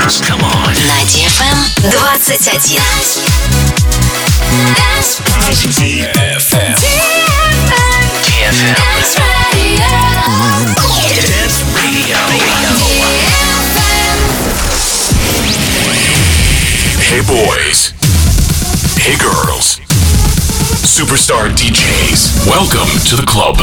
dance. Come on. На DFM 21. DFM. Dance Radio. Dance Radio. Hey boys. Hey girls. Superstar DJs. Welcome to the club.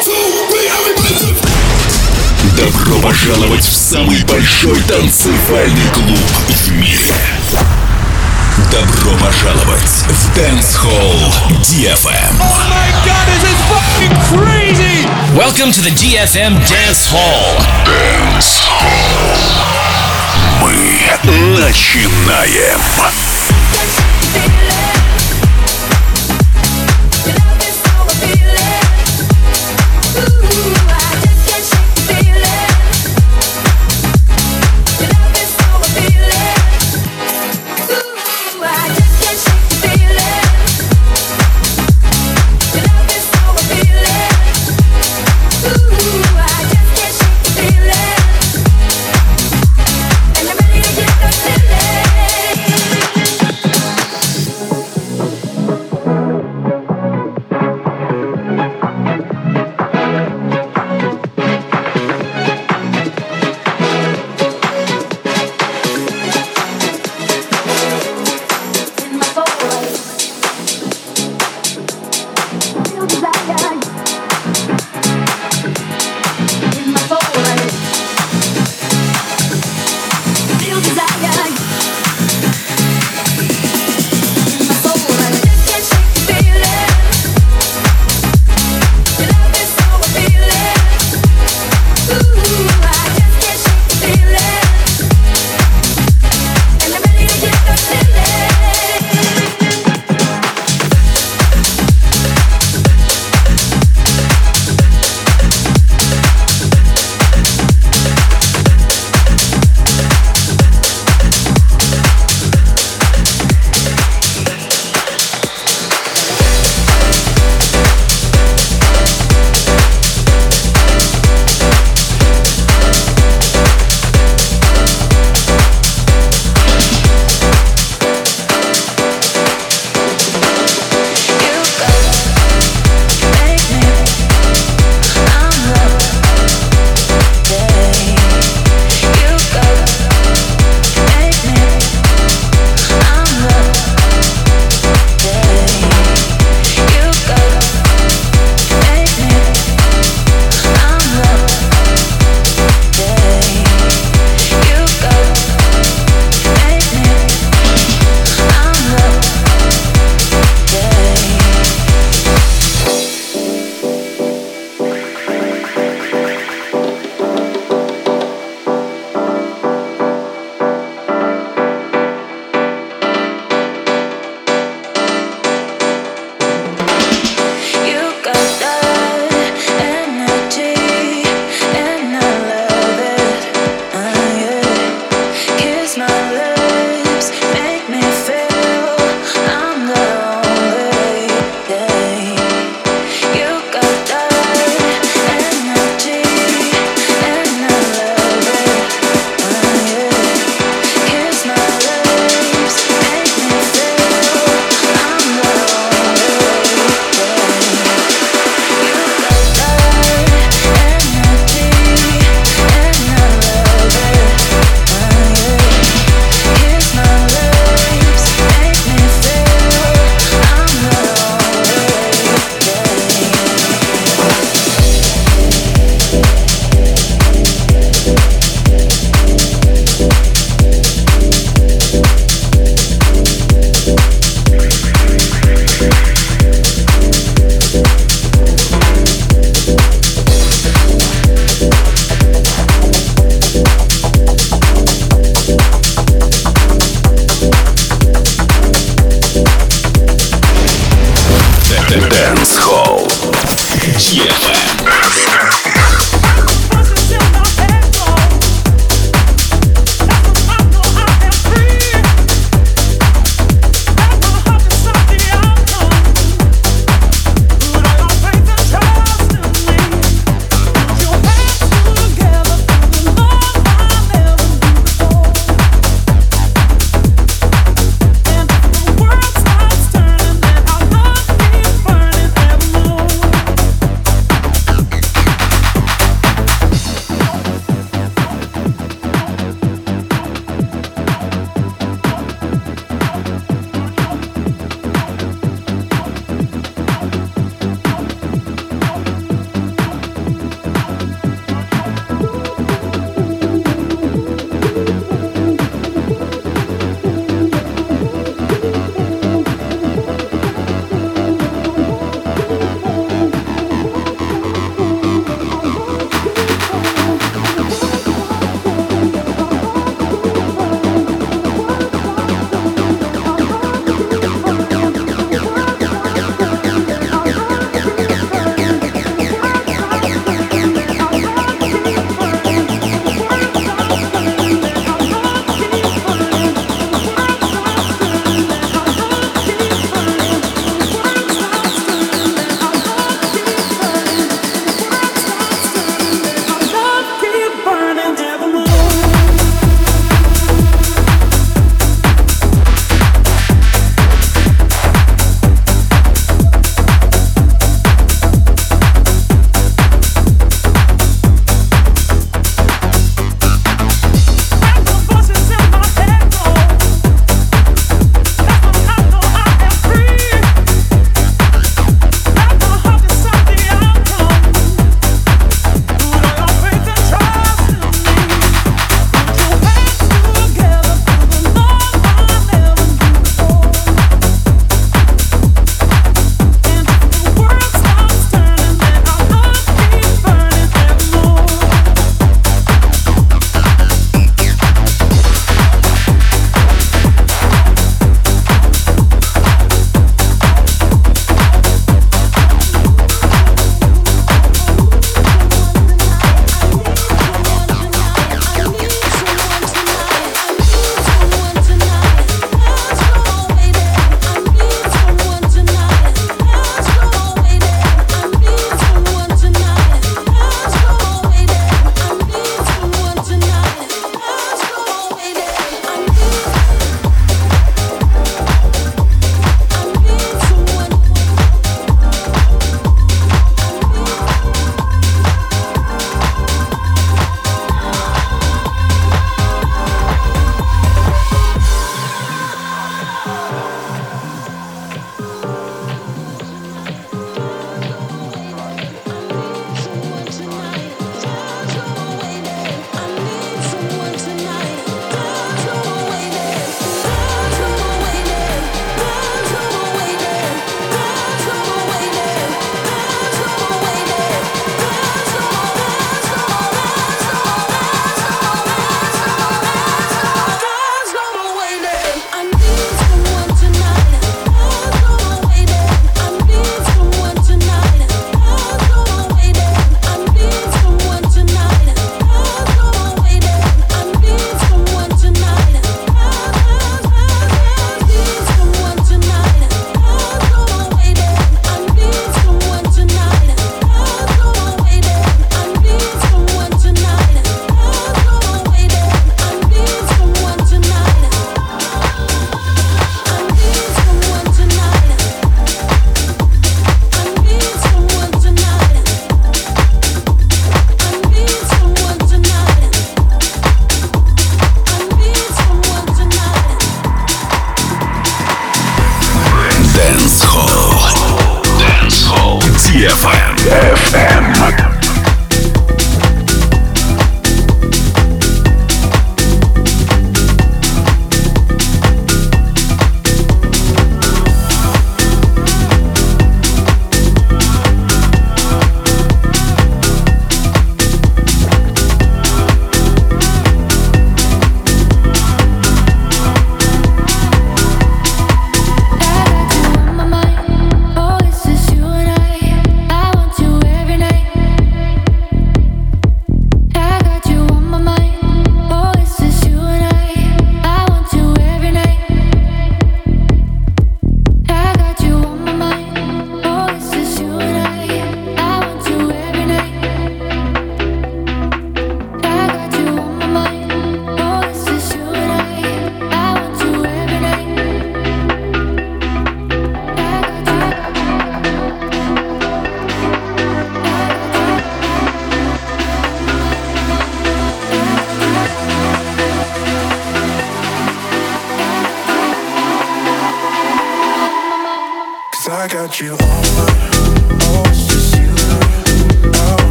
Добро пожаловать в самый большой танцевальный клуб в мире. Добро пожаловать в Dance Hall DFM. Oh my god, this is fucking crazy! Welcome to the DFM Dance Hall. Dance Hall. Мы начинаем.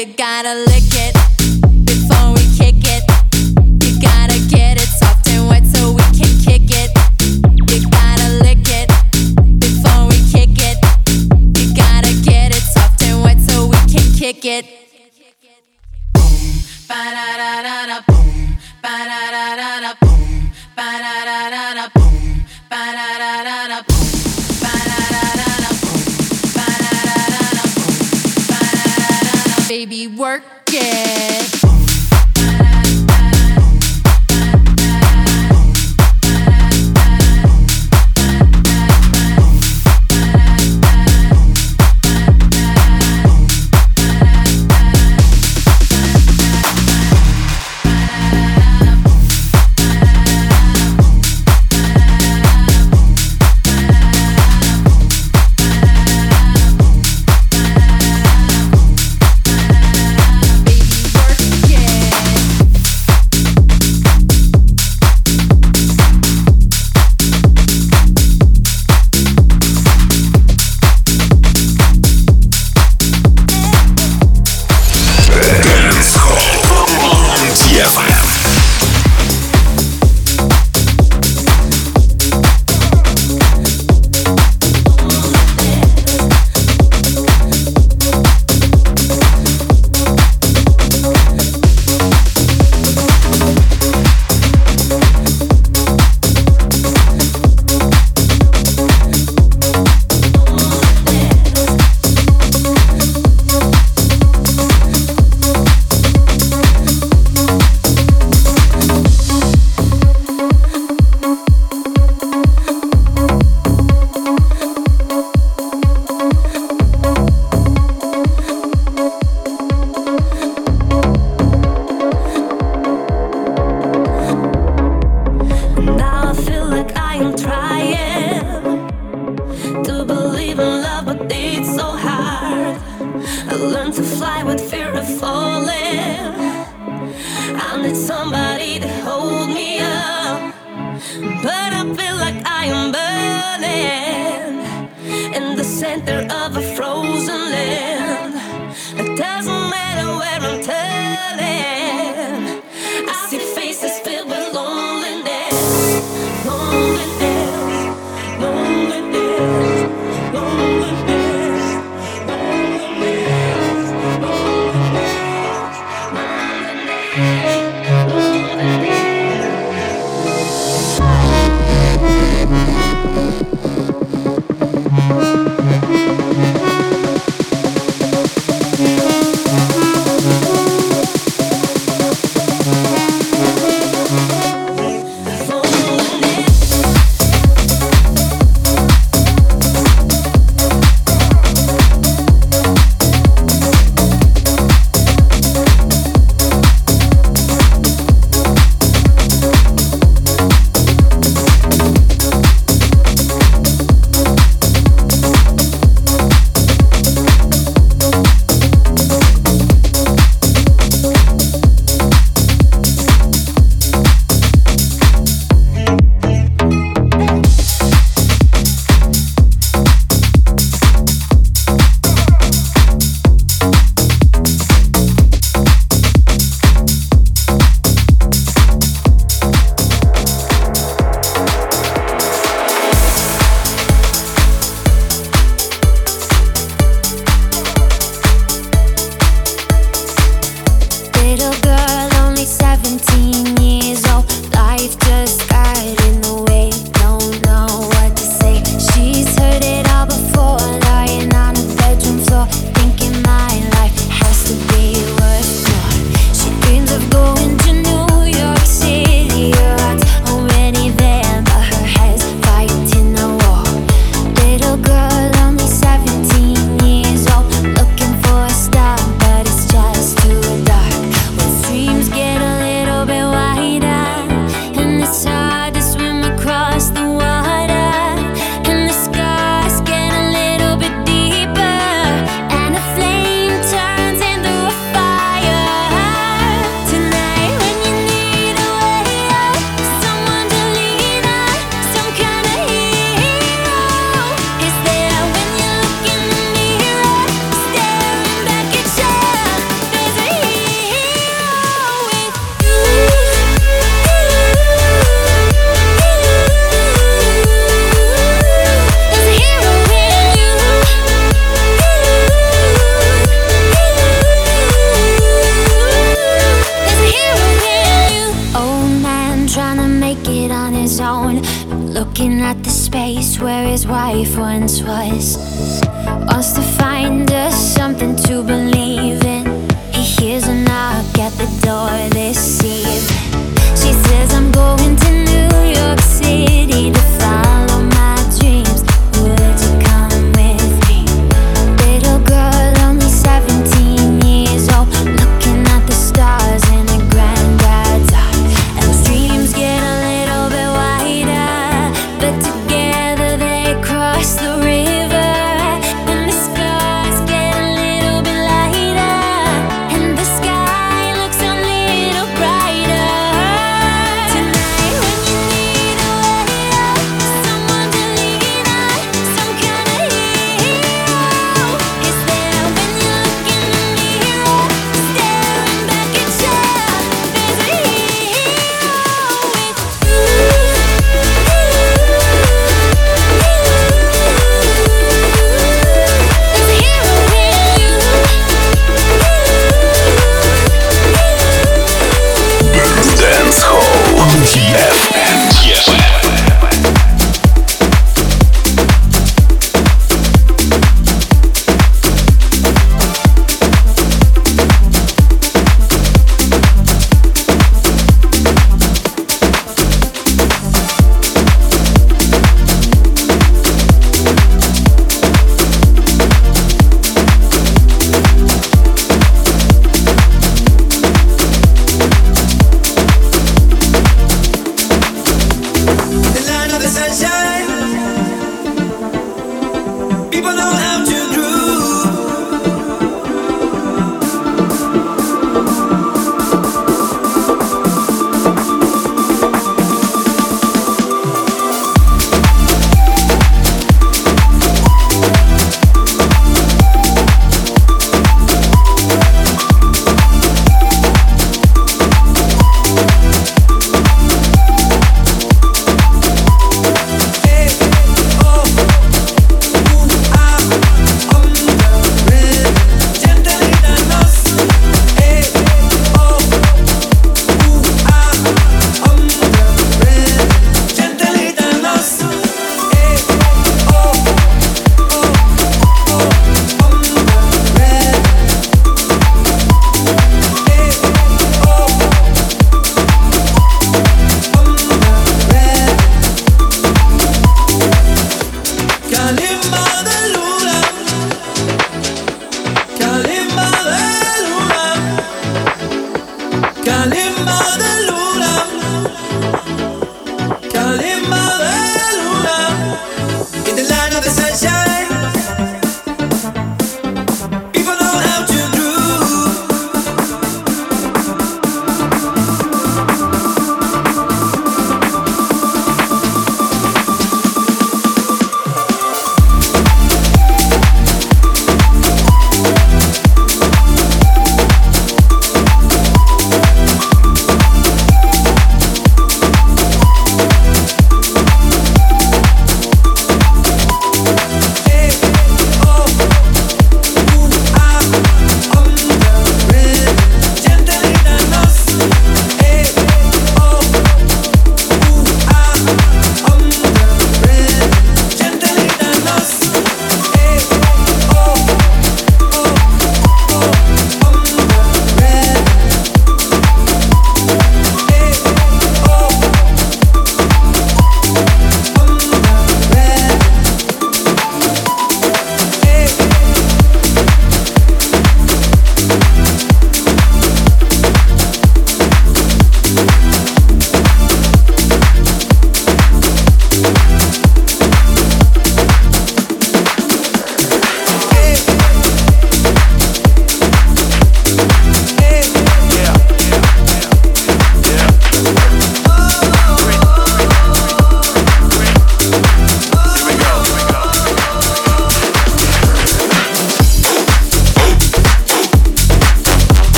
You gotta lick it before we kick it. You gotta get it soft and wet so we can kick it. You gotta lick it before we kick it. You gotta get it soft and wet so we can kick it. Boom, ba da da da da, boom, ba da da da da, boom, ba da da da da, boom, ba da da da da, boom, ba da da da da, boom, ba da da da da, boom, ba da da da da. Baby, work it. it on his own, looking at the space where his wife once was. Wants to find us something to believe in. He hears a knock at the door this evening. She says, I'm going to New York City to follow my dreams. Would you come with me? Little girl, only 17 years old, looking at the stars in her granddad's art. And those dreams get a little bit wider, but together they cross the river. And the stars get a little bit lighter, and the sky looks a little brighter. Tonight when you need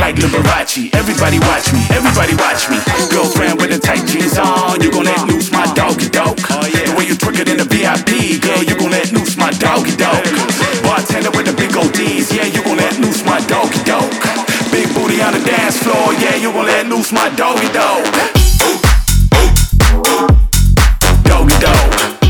like Liberace. Everybody watch me, everybody watch me. Girlfriend with the tight jeans on, you gon' let loose my doggy dog. The way you twerk it in the VIP, girl, you gon' let loose my doggy dog. Bartender with the big ODs, yeah, you gon' let loose my doggy dog. Big booty on the dance floor, yeah, you gon' let loose my doggy dog. Doggy dog.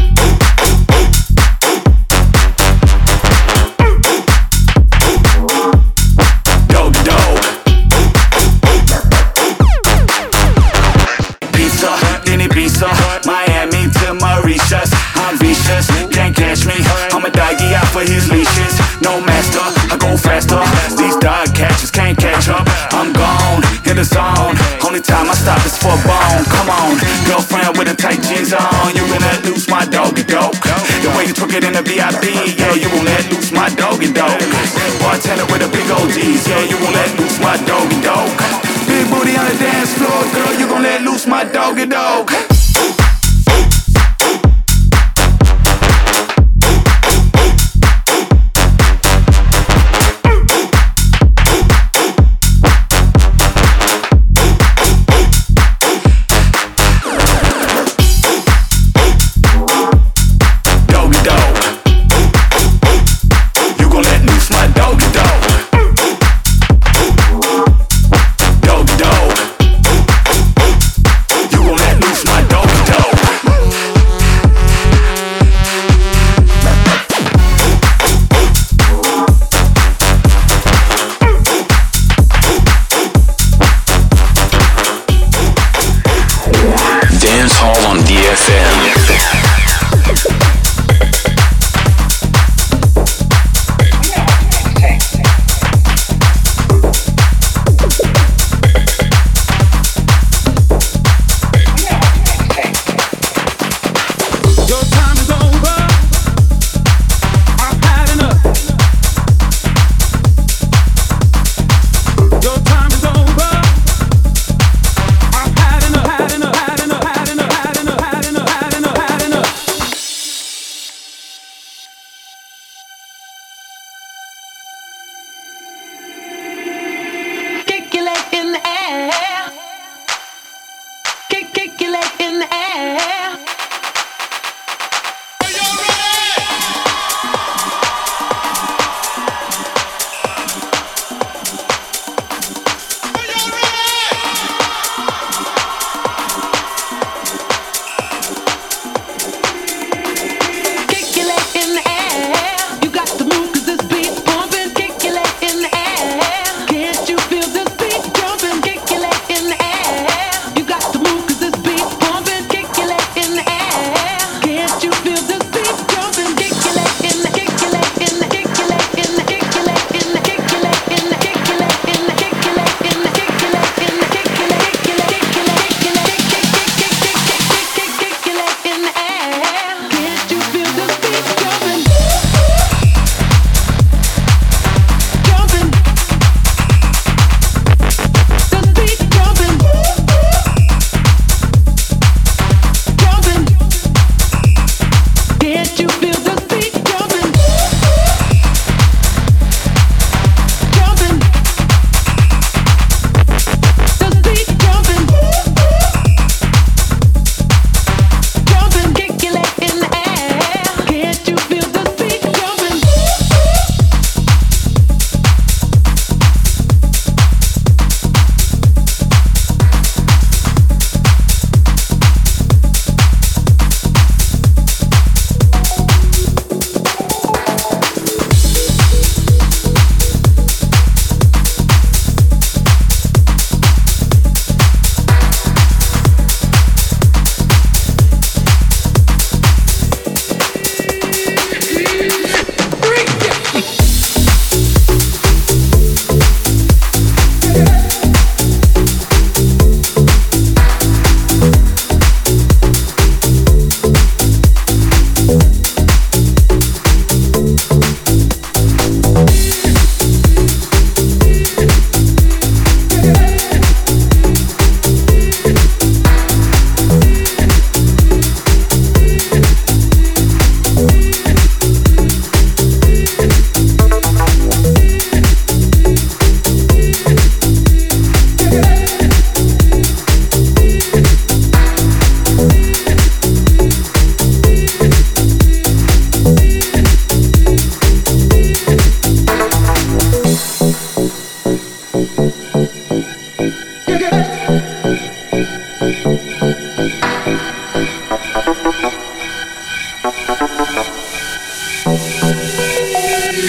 Miami to Mauritius, I'm vicious, can't catch me. I'm a doggy out for his leashes. No master, I go faster. These dog catchers can't catch up. I'm gone, in the zone. Only time I stop is for a bone. Come on, girlfriend with the tight jeans on. You gon' let loose my doggy dog. The way you twerk it in the VIP, yeah, you gon' let loose my doggy dog. Bartender with the big OGs, yeah, you gon' let loose my doggy dog. Big booty on the dance floor, girl, you gon' let loose my doggy dog. My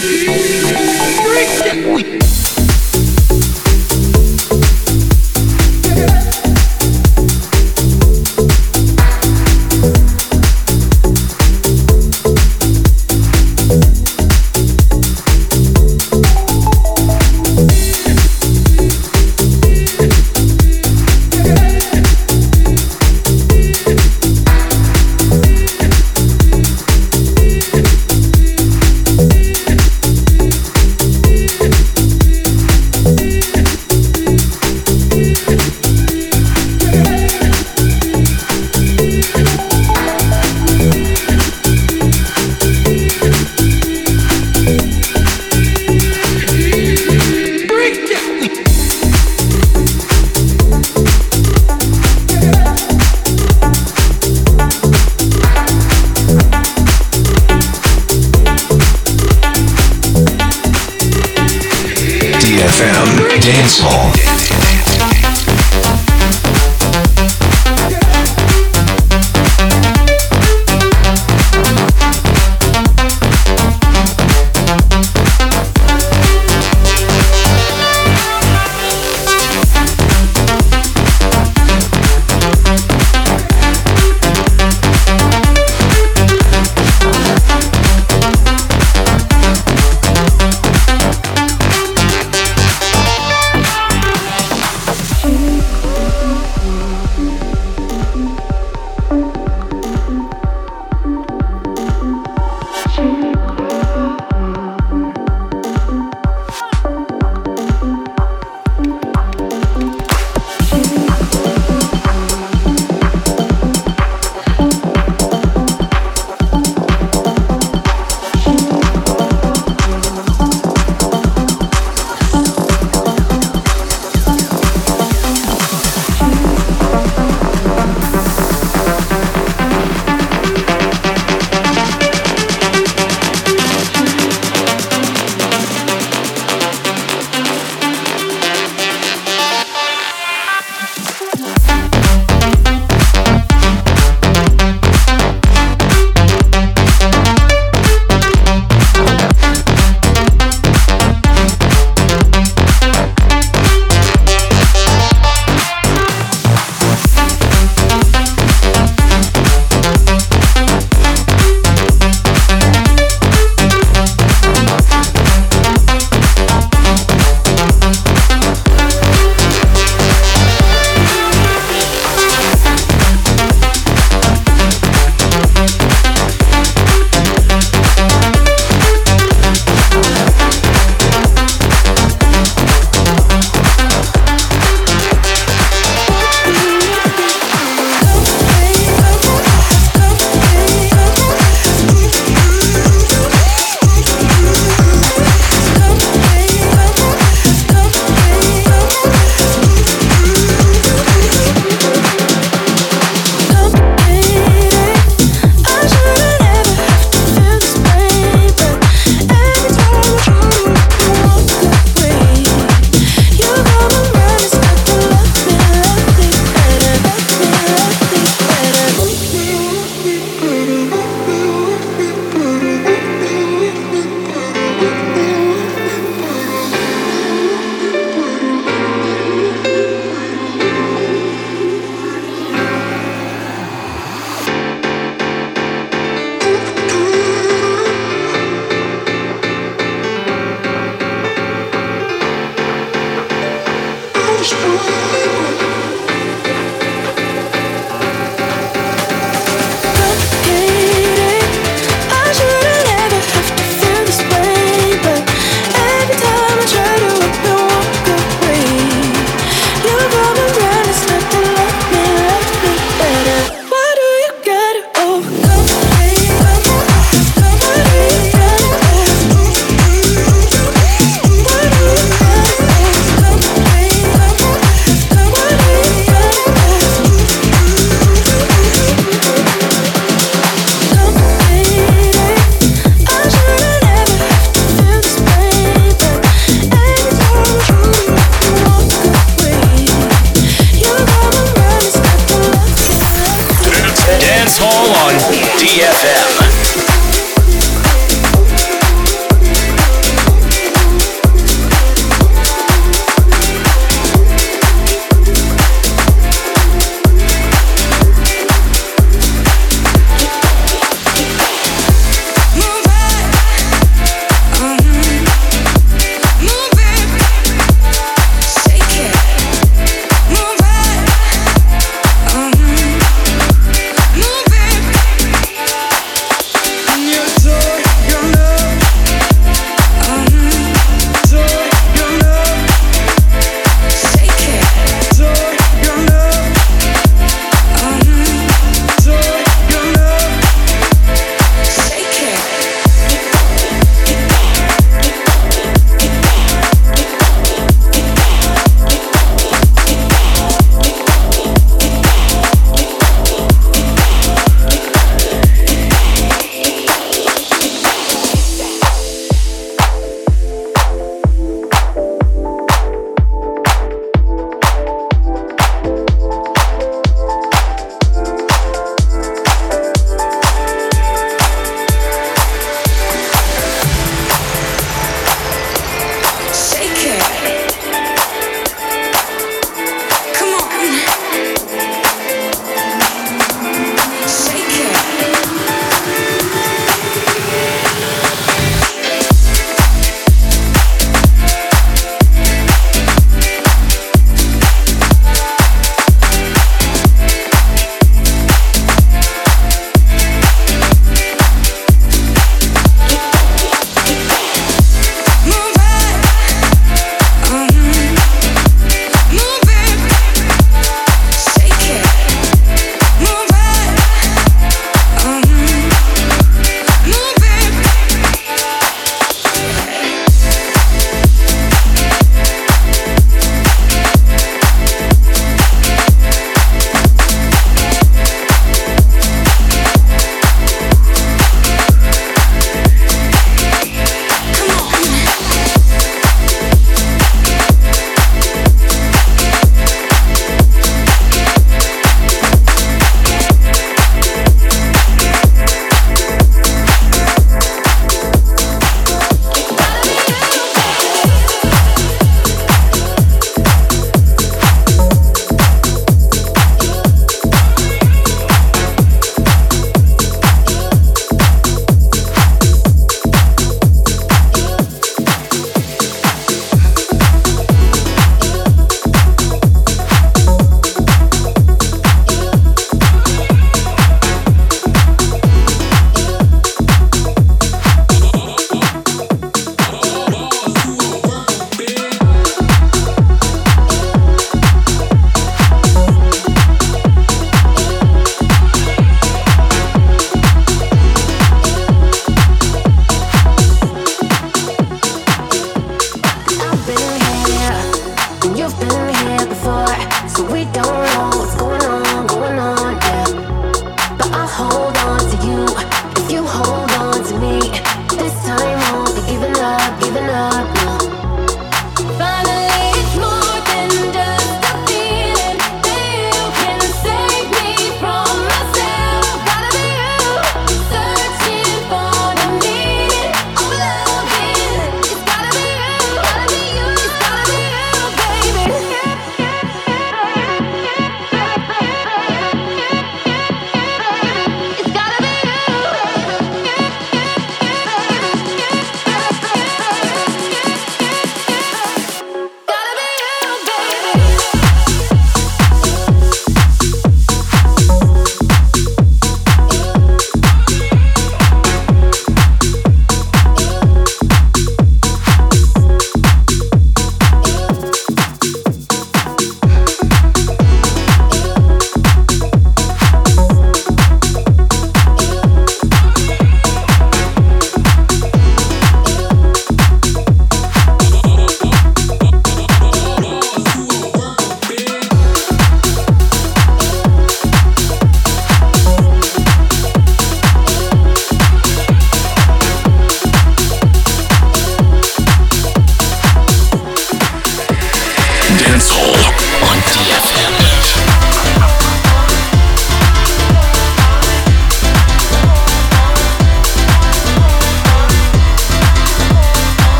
Complicated. I shouldn't ever have to feel this way, but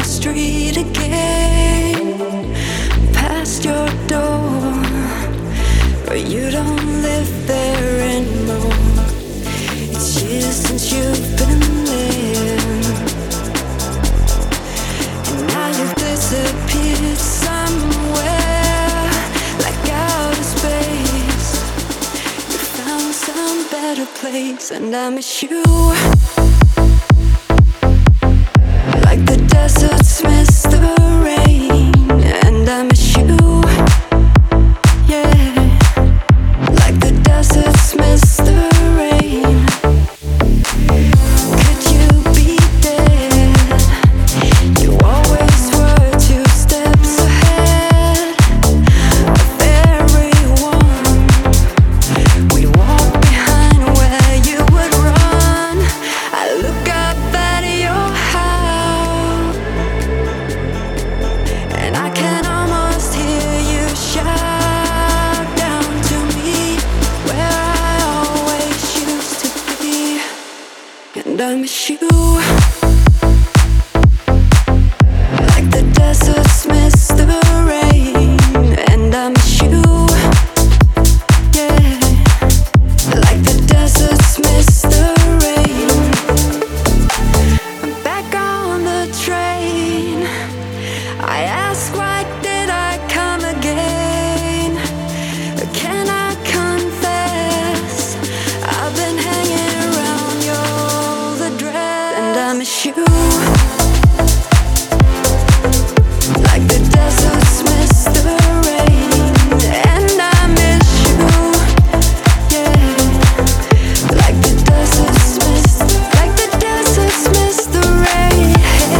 the street again, past your door, but you don't live there anymore. It's years since you've been there, and now you've disappeared somewhere, like outer space. You found some better place, and I miss you. Like the deserts miss the rain, and I miss you. Yeah, like the deserts miss the rain. Could you be there? You always were 2 steps ahead of everyone. We walk behind where you would run. I look up at your house, and I can almost hear you shout down to me, where I always used to be. And I miss you. Like the deserts miss the rain, and I miss you. Yeah, like the deserts miss the rain. I'm back on the train. I ask, why did I come again? Can I confess? I've been hanging around your the dress, and I miss you. Like the deserts miss the rain, and I miss you. Yeah, like the deserts miss the rain.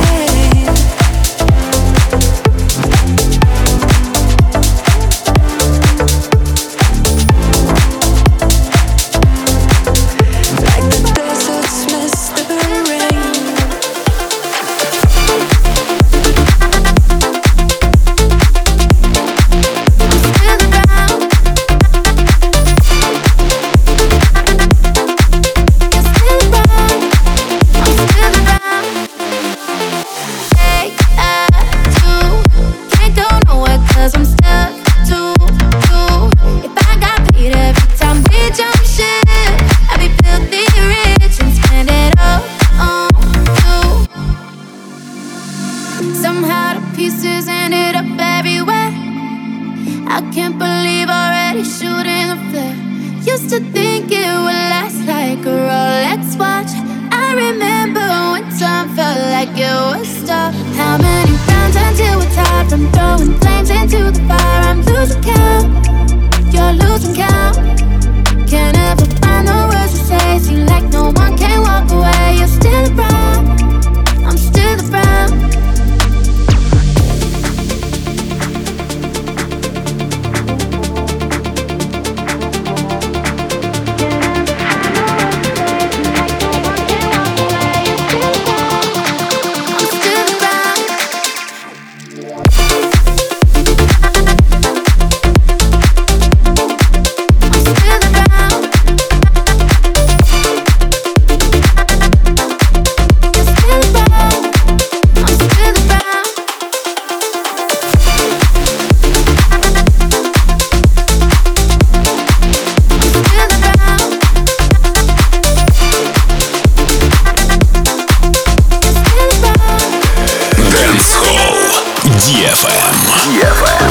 Like the deserts miss the rain. Somehow the pieces ended up everywhere. I can't believe already shooting the flare. Used to think it would last like a Rolex watch. I remember when time felt like it was stopped. How many rounds until we're tired from throwing flames into the fire? I'm losing count, you're losing count. Can't ever find the words to say. Seem like no one can walk away. You're still around, I'm still around. DFM.